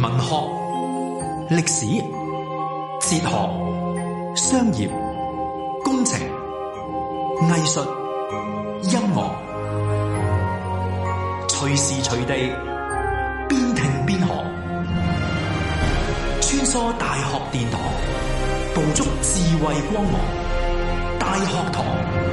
文學、歷史、哲學、商業、工程、藝術、音樂，隨時隨地邊聽邊學，穿梭大學殿堂，捕捉智慧光芒。大學堂。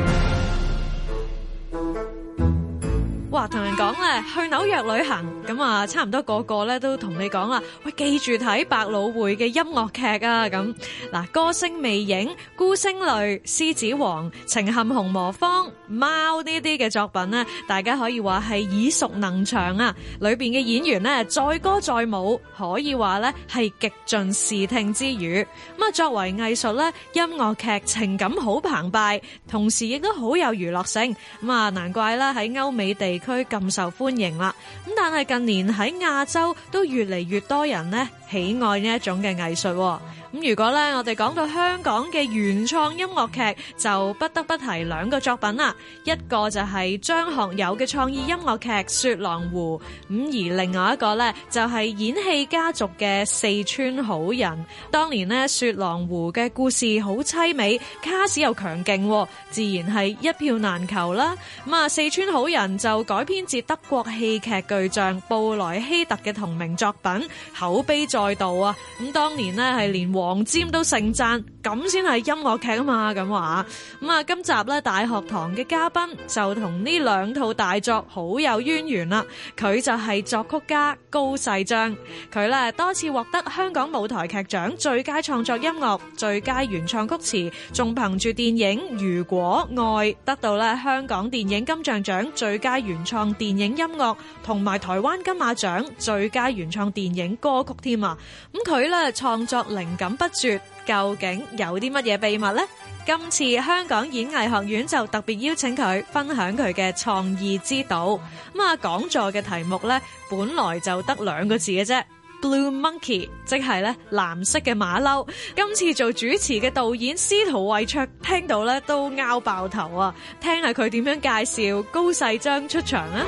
哇，同人講咧，去紐約旅行咁啊，差唔多個個咧都同你講啦，喂，記住睇百老匯嘅音樂劇啊咁。嗱，歌聲魅影、孤星淚、獅子王、情陷紅磨坊、貓呢啲嘅作品呢，大家可以話係耳熟能詳啊。裏邊嘅演員呢，載歌載舞，可以話咧係極盡視聽之語。咁啊，作為藝術咧，音樂劇情感好澎湃，同時亦都好有娛樂性。咁啊，難怪啦喺歐美地區咁受歡迎啦。咁但係近年喺亞洲都越嚟越多人呢喜愛呢一種嘅藝術。咁如果咧我哋講到香港嘅原創音樂劇，就不得不提兩個作品啦。一個就係張學友嘅創意音樂劇《雪狼湖》，咁而另外一個咧就係演戲家族嘅《四川好人》。當年呢，《雪狼湖》嘅故事好淒美，卡士又強勁，自然係一票難求啦。咁啊，《四川好人》就改編自德國戲劇巨匠布萊希特嘅同名作品，口碑載道啊！咁當年呢，係連黃霑都盛讚，咁先係音樂劇啊嘛，咁話。咁啊，今集咧大學堂嘅嘉賓就同呢兩套大作好有淵源啦。佢就係作曲家高世章，佢咧多次獲得香港舞台劇獎最佳創作音樂、最佳原創曲詞，仲憑住電影《如果愛》得到咧香港電影金像獎最佳原創電影音樂，同埋台灣金馬獎最佳原創電影歌曲添啊！咁佢咧創作靈感不絕，究竟有啲乜嘢秘密呢？今次香港演藝學院就特別邀請佢分享佢嘅創意之道。咁啊，講座嘅題目咧本來就得兩個字嘅啫， Blue Monkey， 即係咧藍色嘅馬騮。今次做主持嘅導演司徒慧焯聽到咧都拗爆頭啊！聽下佢點樣介紹高世章出場啊！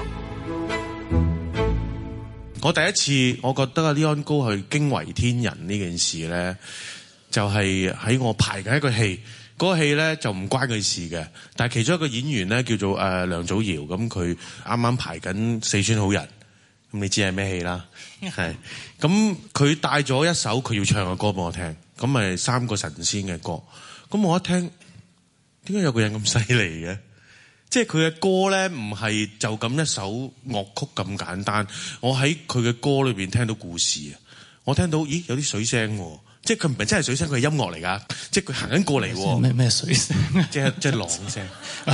我第一次我覺得阿李安高係驚為天人呢件事咧，就係喺我排緊一個戲，嗰個戲咧就唔關佢事嘅，但係其中一個演員咧叫做梁祖堯，咁佢啱啱排緊《四川好人》，咁你知係咩戲啦？係咁佢帶咗一首佢要唱嘅歌俾我聽，咁咪三個神仙嘅歌，咁我一聽，點解有個人咁犀利嘅？即係佢嘅歌咧，唔係就咁一首樂曲咁簡單。我喺佢嘅歌裏邊聽到故事啊！我聽到，咦，有啲水聲喎，即係佢唔係真係水聲，佢係音樂嚟㗎。即係佢行緊過嚟喎。咩水聲？即係浪聲。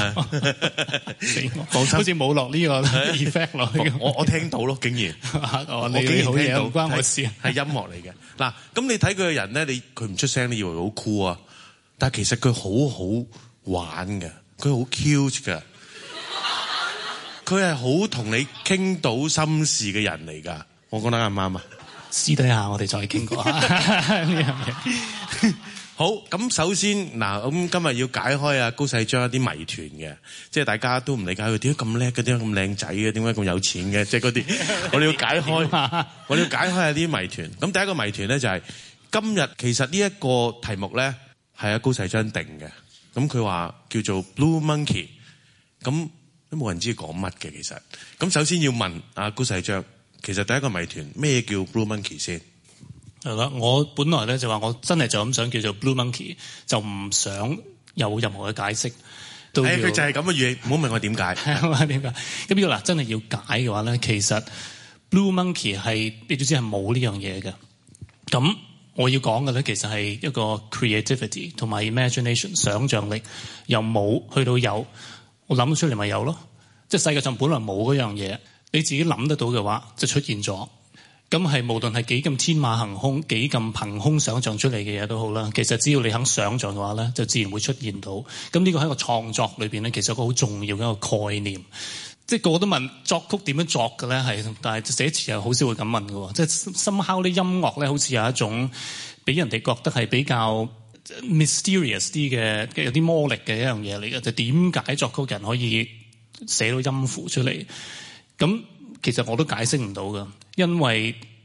放心，好似冇落呢個 effect 落去。我聽到咯，竟然。我竟然聽到，唔關我事。係音樂嚟嘅。嗱，咁你睇佢嘅人咧，佢唔出聲，你以為佢好酷啊？但係其實佢好好玩嘅，佢好 cute 㗎。佢係好同你傾到心事嘅人嚟㗎，我覺得啱唔啱啊？ 私底下我哋再傾過呢樣嘢。 好，咁首先嗱，咁今日要解開啊高世章一啲謎團嘅，即係大家都唔理解佢點解咁叻嘅，點解咁靚仔嘅，點解咁有錢嘅，即係嗰啲，我哋要解開，我哋要解開下啲謎團。咁第一個謎團咧就係今日其實呢一個題目咧係阿高世章定嘅，咁佢話叫做 Blue Monkey， 咁。都冇人知講乜嘅其實，咁首先要問阿高世章，其實第一個謎團咩叫 Blue Monkey 先？ 係啦，我本來咧就話我真係就咁想叫做 Blue Monkey， 就唔想有任何嘅解釋。 佢就係咁嘅語，唔好問我點解。 點解？咁要嗱真係要解嘅話咧，其實 Blue Monkey 係你都知係冇呢樣嘢嘅。咁我要講嘅咧，其實係一個 creativity 同埋 imagination 想像力，由冇去到有。我諗出嚟咪有咯，即係世界上本來冇嗰樣嘢，你自己諗得到嘅話就出現咗。咁係無論係幾咁天馬行空、幾咁憑空想像出嚟嘅嘢都好啦，其實只要你肯想像嘅話咧，就自然會出現到。咁呢個喺個創作裏邊咧，其實一個好重要嘅一個概念。即係個個都問作曲點樣作嘅咧，係，但係寫詞又好少會咁問嘅喎。即係somehow啲音樂咧，好似有一種俾人哋覺得係比較mysterious 啲嘅，有啲魔力嘅一樣嘢嚟嘅，就點解作曲人可以寫到音符出嚟？咁其實我都解釋唔到㗎，因為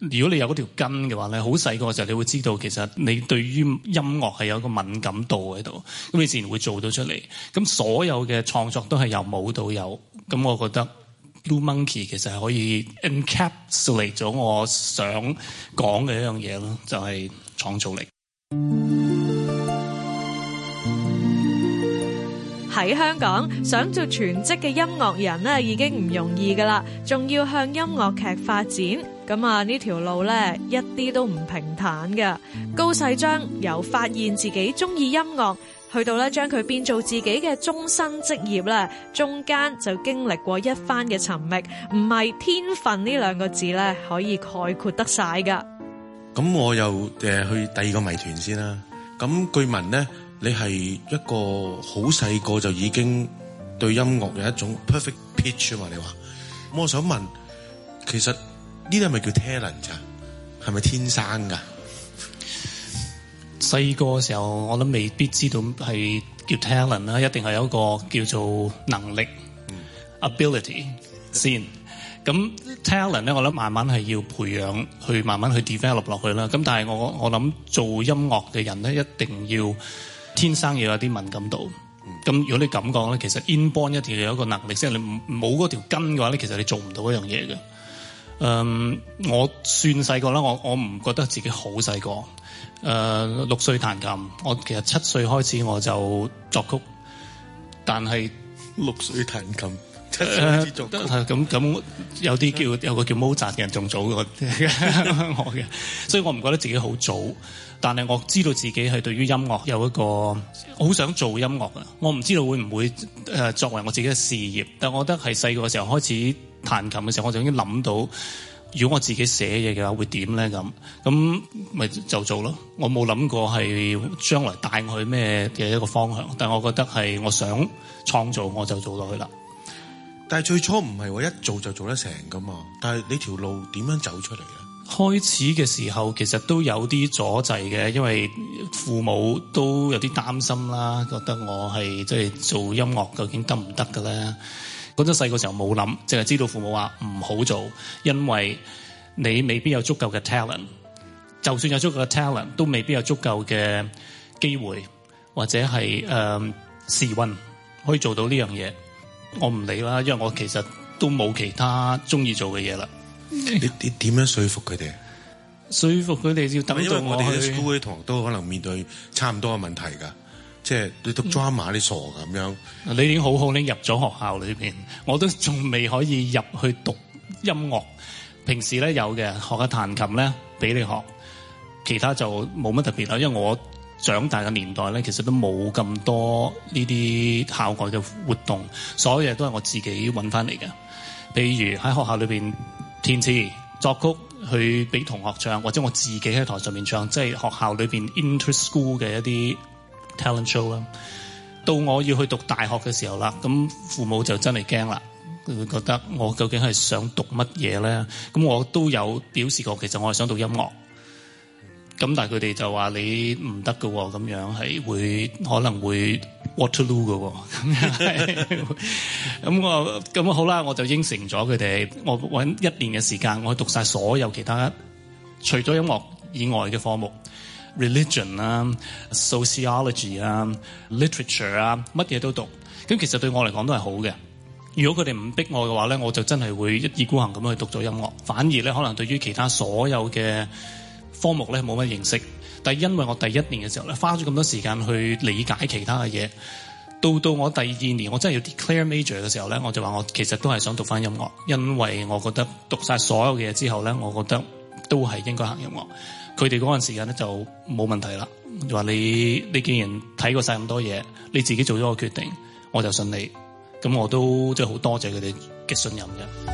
如果你有嗰條根嘅話咧，好細個嘅時候你會知道其實你對於音樂係有一個敏感度喺度，咁你自然會做到出嚟。咁所有嘅創作都係由冇到有，咁我覺得 Blue Monkey 其實係可以 encapsulate 咗我想講嘅一樣嘢咯，就係創造力。 喺香港想做全職嘅音樂人咧，已經唔容易噶啦，仲要向音樂劇發展，咁啊呢條路咧一啲都唔平坦嘅。高世章由發現自己中意音樂，去到咧將佢變做自己嘅終身職業咧，中間就經歷過一番嘅尋覓，唔係天分呢兩個字咧可以概括得晒噶。 咁我又去第二個謎團先啦。咁據聞咧，你係一個好細個就已經對音樂有一種 perfect pitch 啊嘛？你話，咁我想問，其實呢啲係咪叫 talent 咋？係咪天生㗎？ 細個嘅時候，我諗未必知道係叫 talent 啦，一定係有一個叫做能力、ability 先。咁 talent 咧，我諗慢慢係要培養，去慢慢去 develop 落去啦。咁但係我諗做音樂嘅人咧，一定要天生要有啲敏感度。咁如果你咁講咧，其實 inborn 一定要有一個能力，即係你冇嗰條根嘅話咧，其實你做唔到一樣嘢嘅。我算細個啦，我唔覺得自己好細個。6歲彈琴，我其實7歲開始我就作曲，但係 6歲彈琴，7歲開始作曲。 咁有啲有個叫 Mozart 嘅人仲早過我嘅，所以我唔覺得自己好早。但係我知道自己係對於音樂有一個好想做音樂嘅，我唔知道會唔會作為我自己嘅事業。但我覺得係細個嘅時候開始彈琴嘅時候，我就已經諗到，如果我自己寫嘢嘅話會點咧？咁咪就做咯。我冇諗過係將來帶我去咩嘅一個方向，但係我覺得係我想創造，我就做落去啦。 但係最初唔係話一做就做得成噶嘛？但係你條路點樣走出嚟啊？ 開始嘅時候其實都有啲阻滯嘅，因為父母都有啲擔心啦，覺得我係即係做音樂究竟得唔得嘅咧？嗰陣細個時候冇諗，淨係知道父母話唔好做，因為你未必有足夠嘅 talent， 就算有足夠嘅 talent， 都未必有足夠嘅機會或者係時運可以做到呢樣嘢。我唔理啦，因為我其實都冇其他中意做嘅嘢啦。 你點樣說服佢哋？ 說服佢哋要等到因為我哋我啲 school 啲同學都可能面對差唔多嘅問題㗎，即係你讀 drama 你傻咁樣。 你已經好好，你入咗學校裏邊，我都仲未可以入去讀音樂。平時咧有嘅學下彈琴咧俾你學，其他就冇乜特別啦。因為我長大嘅年代咧，其實都冇咁多呢啲校外嘅活動，所有嘢都係我自己揾翻嚟嘅。譬如喺學校裏邊填詞作曲去俾同學唱，或者我自己喺台上面唱，即係學校裏邊 inter-school 嘅一啲 talent show 啦。到我要去讀大學嘅時候啦，咁父母就真係驚啦，佢會覺得我究竟係想讀乜嘢咧？咁我都有表示過，其實我係想讀音樂。咁但係佢哋就話你唔得㗎喎，咁樣係可能會 Waterloo 㗎喎，咁好啦，我就應承咗佢哋，我揾1年嘅時間，我去讀晒所有其他除咗音樂以外嘅科目 ，religion 啊、sociology 啊、literature 啊，乜嘢都讀。咁其實對我嚟講都係好嘅。如果佢哋唔逼我嘅話咧，我就真係會一意孤行咁去讀咗音樂。反而咧，可能對於其他所有嘅科目咧冇乜認識，但係因為我第1年嘅時候咧花咗咁多時間去理解其他嘅嘢，到我第2年我真係要 declare major 嘅時候咧，我就話我其實都係想讀翻音樂，因為我覺得讀晒所有嘅嘢之後咧，我覺得都係應該行音樂。佢哋嗰陣時間咧就冇問題啦，就話你既然睇過晒咁多嘢，你自己做咗個決定，我就信你。咁我都即係好多謝佢哋嘅信任嘅。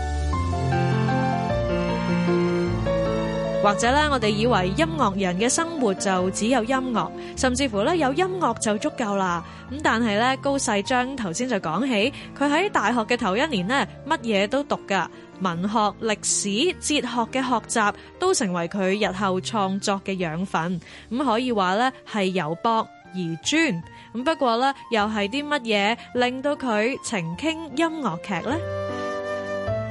或者咧，我哋以為音樂人嘅生活就只有音樂，甚至乎咧有音樂就足夠啦。咁但係咧，高世章頭先就講起，佢喺大學嘅頭1年呢，乜嘢都讀噶，文學、歷史、哲學嘅學習都成為佢日後創作嘅養分。咁可以話咧係由博而專。咁不過咧，又係啲乜嘢令到佢情傾音樂劇呢？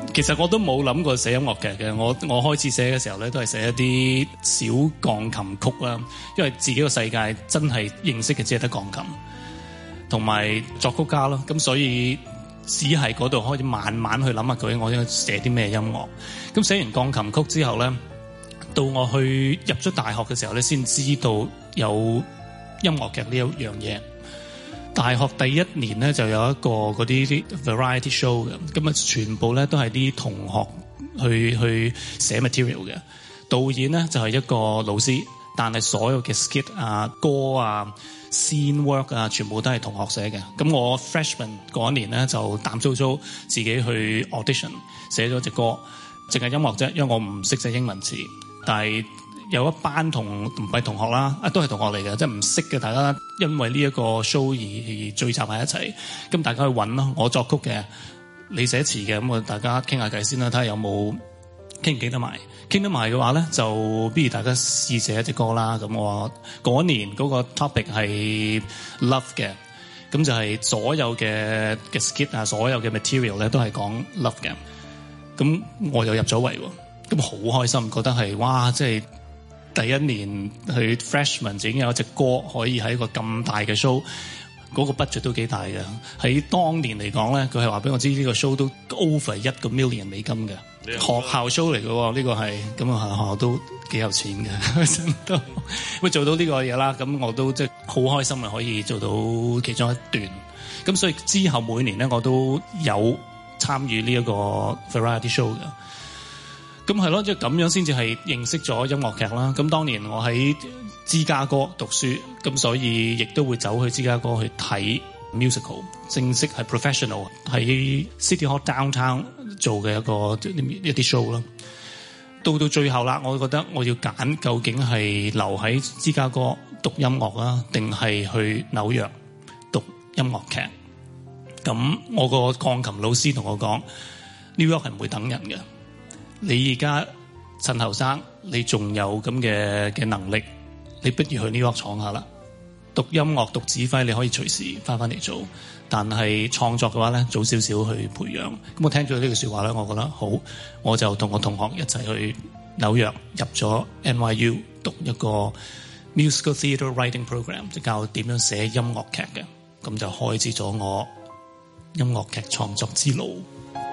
其實我都冇諗過寫音樂劇嘅，我開始寫嘅時候咧，都係寫一啲小鋼琴曲啦，因為自己個世界真係認識嘅只係得鋼琴，同埋作曲家咯，咁所以只係嗰度開始慢慢去諗下究竟我應該寫啲咩音樂。咁寫完鋼琴曲之後咧，到我去入咗大學嘅時候咧，先知道有音樂劇呢一樣嘢。大學第一年咧就有一個嗰啲 variety show 嘅，咁啊全部咧都係啲同學去寫 material 嘅。導演咧就係一個老師，但係所有嘅 skit 啊、歌啊、scene work 啊，全部都係同學寫嘅。咁我 freshman 嗰一年咧就膽粗粗自己去 audition 寫咗隻歌，淨係音樂啫，因為我唔識寫英文詞，但係有一班唔係同學啦，都係同學嚟嘅，即係唔識嘅，大家因為呢一個 show 而聚集埋一齊，咁大家去揾咯。我作曲嘅，你寫詞嘅，咁大家傾下偈先啦，睇下有冇傾唔傾得埋。傾得埋嘅話咧，就不如大家試寫一隻歌啦。咁我嗰年嗰個 topic 係 love 嘅，咁就係所有嘅 skit 啊，所有嘅 material 咧都係講 love 嘅。咁我又入咗圍喎，咁好開心，覺得係哇，即係第一年去 freshman 就已經有一隻歌可以喺一個咁大嘅 show， 嗰個 budget 都幾大嘅。喺當年嚟講咧，佢係話俾我知呢個 show 都 over $1 million 美金嘅，學校 show 嚟嘅喎，呢個係咁啊，學校都幾有錢嘅，都會做到呢個嘢啦。咁我都即係好開心啊，可以做到其中一段。咁所以之後每年咧，我都有參與呢一個 variety show 嘅。咁係咯，即係咁樣先至係認識咗音樂劇啦。咁當年我喺芝加哥讀書，咁所以亦都會走去芝加哥去睇 musical， 正式係 professional 喺 City Hall Downtown 做嘅一啲 show 啦。到最後啦，我覺得我要揀究竟係留喺芝加哥讀音樂啊，定係去紐約讀音樂劇。咁我個鋼琴老師同我講 New York 係唔會等人嘅。你而家趁後生，你仲有咁嘅能力，你不如去 New York 闖下啦。讀音樂、讀指揮，你可以隨時翻嚟做，但係創作嘅話咧，早少少去培養。咁我聽咗呢句說話咧，我覺得好，我就同我同學一齊去紐約入咗 NYU 讀一個 musical theatre writing program， 即教點樣寫音樂劇嘅。咁就開始咗我音樂劇創作之路。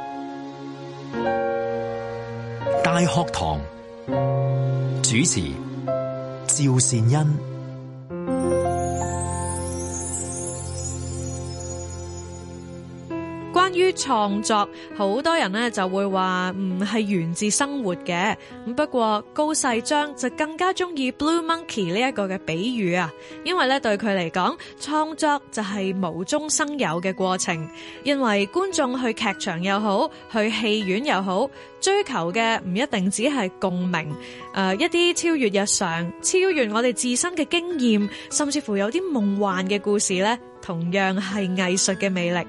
大學堂主持趙善恩。 關於創作，好多人呢就會話唔係源自生活嘅。咁不過高世章就更加中意 Blue Monkey 呢一個嘅比喻啊，因為咧對佢嚟講，創作就係無中生有嘅過程。因為觀眾去劇場又好，去戲院又好，追求嘅唔一定只係共鳴，一啲超越日常、超越我哋自身嘅經驗，甚至乎有啲夢幻嘅故事咧，同樣係藝術嘅魅力。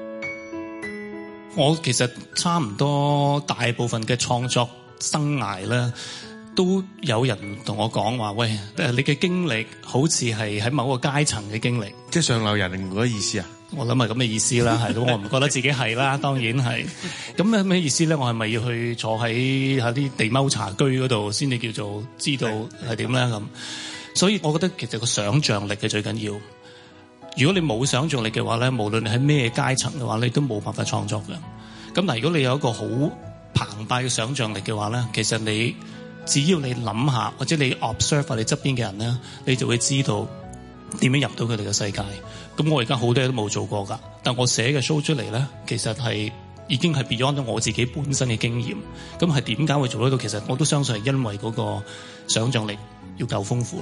我其實差唔多大部分嘅創作生涯咧，都有人同我講話，喂，你嘅經歷好似係喺某個階層嘅經歷， 即係上流人嗰個意思啊？ 我諗係咁嘅意思啦，係咁，我唔覺得自己係啦，當然係。咁係咩意思咧？我係咪要去坐喺啲地踎茶居嗰度先至叫做知道係點咧？咁，所以我覺得其實個想像力係最緊要。如果你冇想像力嘅話咧，無論你喺咩階層嘅話，你都冇辦法創作嘅。咁但係如果你有一個好澎湃嘅想像力嘅話咧，其實你只要你諗下，或者你 observe 下你側邊嘅人咧，你就會知道點樣入到佢哋嘅世界。咁我而家好多嘢都冇做過㗎，但我寫嘅 show 出嚟咧，其實係已經係 beyond 咗我自己本身嘅經驗。咁係點解會做得到？其實我都相信係因為嗰個想像力要夠豐富咯。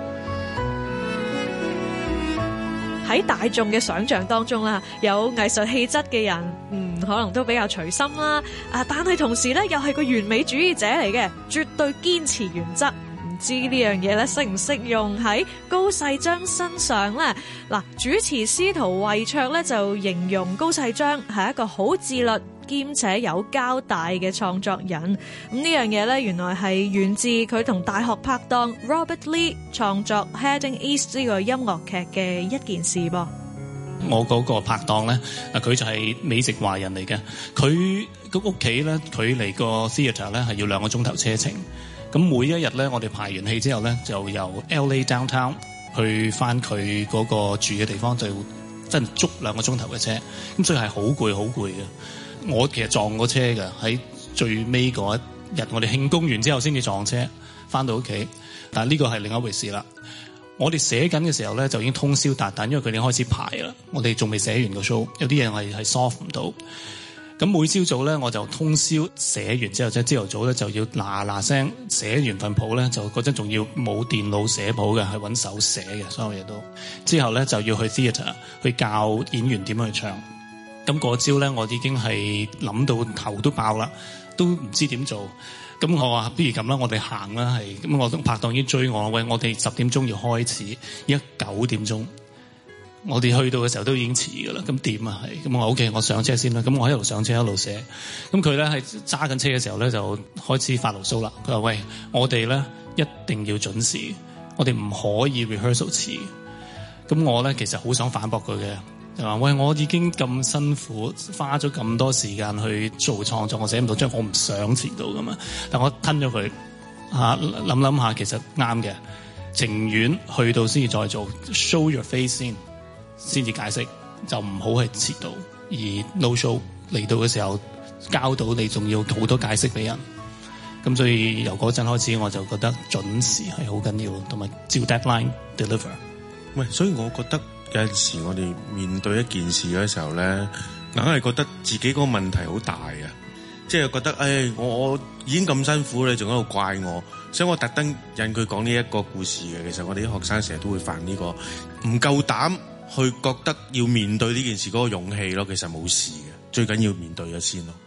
喺大眾嘅想像當中啦，有藝術氣質嘅人，可能都比較隨心啦。但係同時咧，又係個完美主義者嚟嘅，絕對堅持原則。唔知呢樣嘢咧，適唔適用喺高世章身上咧？嗱，主持司徒慧卓咧就形容高世章係一個好自律兼且有交代嘅創作人。咁呢樣嘢咧，原來係源自佢同大學拍檔 Robert Lee 創作 Heading East 呢個音樂劇嘅一件事噃。 我嗰個拍檔咧，佢就係美籍華人嚟嘅，佢個屋企咧，距離個 theatre 咧係要2個鐘頭車程。咁每一日咧，我哋排完戲之後咧，就由 LA downtown 去翻佢嗰個住嘅地方，就真係足2個鐘頭嘅車。咁所以係好攰，好攰嘅。我其實撞過車嘅，喺最尾嗰一日，我哋慶功完之後先至撞車翻到屋企。但係呢個係另一回事啦。我哋寫緊嘅時候咧，就已經通宵達旦，因為佢哋開始排啦。我哋仲未寫完個 show，有啲嘢係 solve 唔到。咁每朝早咧，我就通宵寫完之後，即係朝頭早咧就要嗱聲寫完份譜咧，就嗰陣仲要冇電腦寫譜嘅，係揾手寫嘅，所有嘢都。之後咧就要去 theatre 去教演員點樣去唱。咁嗰朝咧，我已經係諗到頭都爆啦，都唔知點做。咁我話不如咁啦，我哋行啦，係咁我拍檔已經追我，喂，我哋10點鐘要開始，而家9點鐘，我哋去到嘅時候都已經遲㗎啦，咁點啊係？咁我話 OK，我上車先啦，咁我一路上車一路寫，咁佢咧係揸緊車嘅時候咧就開始發牢騷啦，佢話喂，我哋咧一定要準時，我哋唔可以 rehearsal 遲，咁我咧其實好想反駁佢嘅。就話喂，我已經咁辛苦，花咗咁多時間去做創作，我寫唔到，即係我唔想遲到噶嘛。但我吞咗佢嚇，諗下其實啱嘅，情願去到先至再做 show your face 先至解釋，就唔好係遲到。而 no show 嚟到嘅時候交到你，仲要好多解釋俾人。咁所以由嗰陣開始，我就覺得準時係好緊要，同埋照 deadline deliver。 喂，所以我覺得。有陣時我哋面對一件事嘅時候咧，硬係覺得自己嗰個問題好大啊！即係覺得，我已經咁辛苦，你仲喺度怪我，所以我特登引佢講呢一個故事嘅。其實我哋啲學生成日都會犯呢個唔夠膽去覺得要面對呢件事嗰個勇氣咯。其實冇事嘅，最緊要面對咗先咯。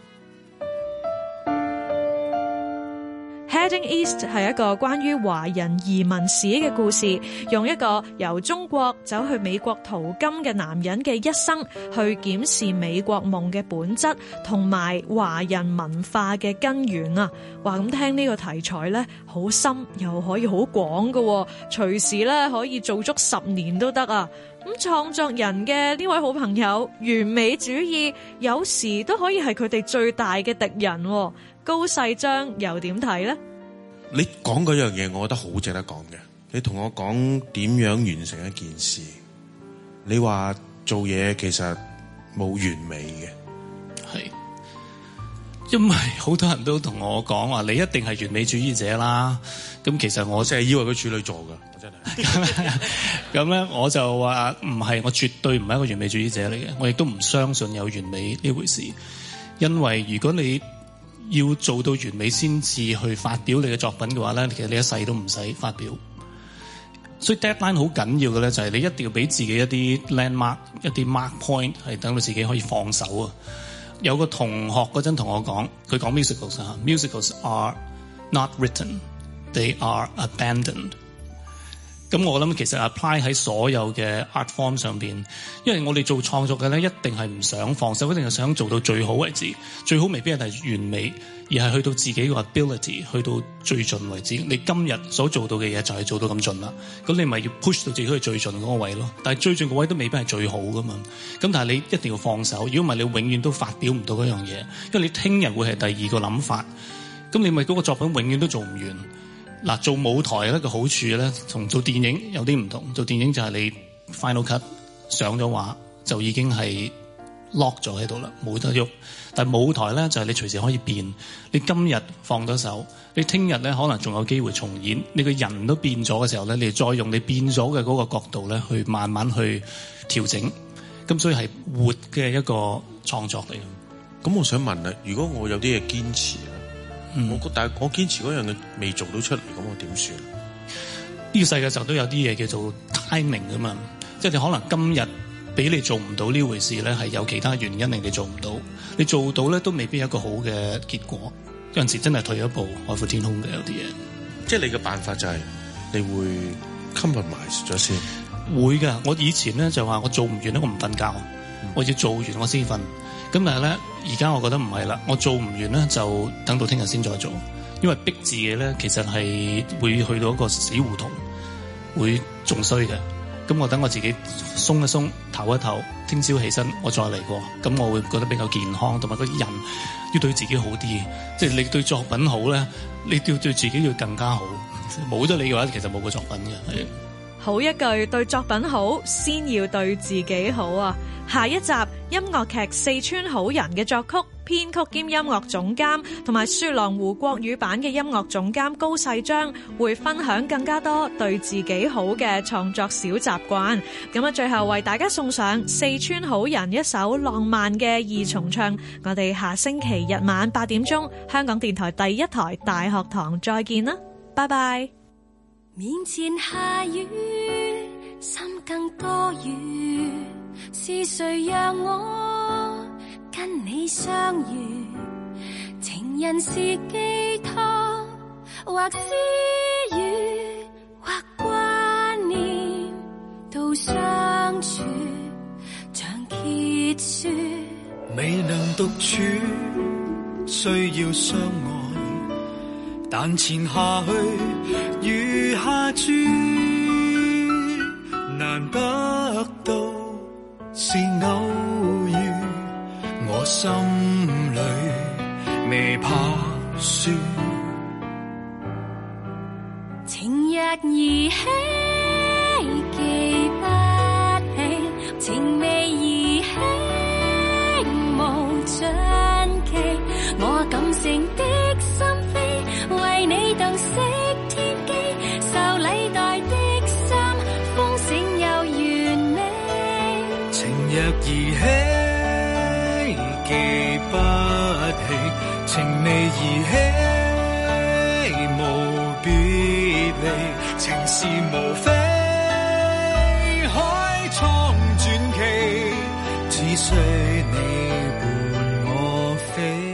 Heading East 係一個關於華人移民史嘅故事，用一個由中國走去美國淘金嘅男人嘅一生，去檢視美國夢嘅本質同埋華人文化嘅根源啊！話咁聽呢個題材咧，好深又可以好廣㗎，隨時咧可以做足10年都得啊！咁創作人嘅呢位好朋友，完美主義有時都可以係佢哋最大嘅敵人。高世章又點睇呢？ 你講嗰樣嘢，我覺得好值得講嘅。你同我講點樣完成一件事，你話做嘢其實冇完美嘅， 係因為好多人都同我講話，你一定係完美主義者啦。咁其實我成日以為佢處女座㗎，我真係。 咁咧我就話唔係，我絕對唔係一個完美主義者嚟嘅。我亦都唔相信有完美呢回事，因為如果你要做到完美先至去發表你嘅作品嘅話咧，其實你一世都唔使發表。所以 deadline 好緊要嘅咧，就係你一定要俾自己一啲 landmark、一啲 mark point，係等到自己可以放手啊。有個同學嗰陣同我講，佢講 musicals are not written, they are abandoned。咁我諗其實 apply 喺所有嘅 art form 上邊，因為我哋做創作嘅咧，一定係唔想放手，一定係想做到最好為止。最好未必係完美，而係去到自己個 ability， 去到最盡為止。你今日所做到嘅嘢就係做到咁盡啦。咁你咪要 push 到自己去最盡嗰個位咯。但係最盡個位都未必係最好噶嘛。咁但係你一定要放手，如果唔係你永遠都發表唔到嗰樣嘢，因為你聽日會係第二個諗法。咁你咪嗰個作品永遠都做唔完。嗱，做舞台咧個好處咧，同做電影有啲唔同。做電影就係你 final cut 上咗畫就已經係 lock 咗喺度啦，冇得喐。但係舞台咧就係你隨時可以變。你今日放咗手，你聽日咧可能仲有機會重演。你個人都變咗嘅時候咧，你再用你變咗嘅嗰個角度咧，去慢慢去調整。咁所以係活嘅一個創作嚟嘅。 咁我想問啊，如果我有啲嘢堅持咧？但係我堅持嗰樣嘢未做到出嚟，咁我點算？ 呢個世界上都有啲嘢叫做 timing 㗎嘛，即係你可能今日俾你做唔到呢回事咧，係有其他原因令你做唔到。你做到咧都未必有一個好嘅結果。有陣時真係退一步海闊天空嘅有啲嘢。 即係你嘅辦法就係你會 compromise 咗先。 會㗎，我以前咧就話我做唔完咧，我唔瞓覺，我要做完我先瞓。咁但係咧，而家我覺得唔係啦，我做唔完咧就等到聽日先再做，因為逼自己咧其實係會去到一個死胡同，會仲衰嘅。 咁我等我自己鬆一鬆，唞一唞，聽朝起身我再嚟過，咁我會覺得比較健康，同埋個人要對自己好啲。即係你對作品好咧，你要對自己要更加好。冇咗你嘅話，其實冇個作品嘅。 好一句，對作品好，先要對自己好啊！下一集音樂劇《四川好人》嘅作曲、編曲兼音樂總監同埋雪狼湖國語版嘅音樂總監高世章會分享更加多對自己好嘅創作小習慣。咁啊，最後為大家送上《四川好人》一首浪漫嘅二重唱。我哋下星期日晚8點鐘，香港電台第一台大學堂再見啦，拜拜。 面前下雨，心更多雨，是誰讓我跟你相遇？情人是寄託，或私語，或掛念，到相處像結束。 未能獨處，需要相愛。但前下去，雨下住，難得到是偶遇，我心裏未怕輸。 情若兒戲，記不起；情未兒戲，無盡期。我感性的心扉，為你洞悉天機，受禮待的心，豐盛又完美。 情若兒戲，記不起；情未兒戲，無別離。情是無非海蒼傳奇，只需你伴我飛。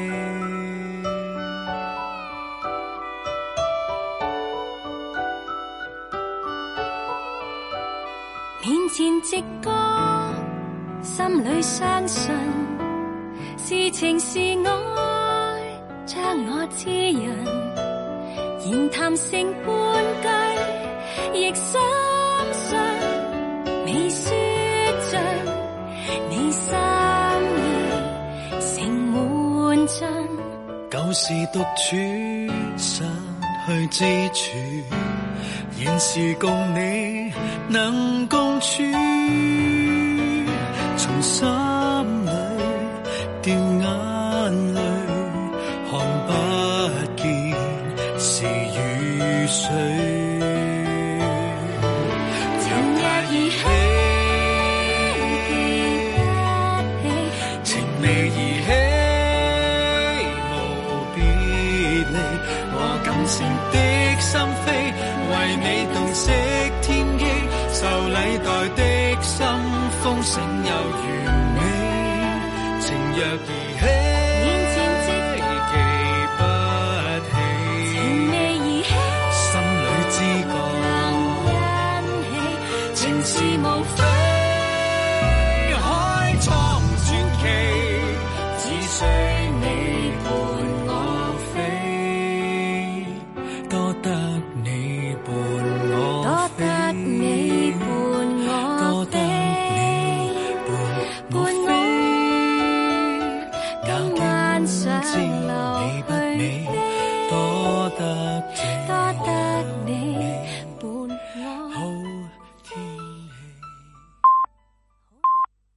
面前直覺，心裏相信，是情是愛，將我滋潤。言談成半句，亦深信未說盡，你心意成滿盡。 舊時獨處，失去支柱，現時共你能共處，從心裏掉眼淚，看不見是雨水。 情若兒戲，記不起； 情未兒戲，無別離。我感性的心扉，為你洞悉天機，受禮待的心，豐盛又完美。情若兒戲。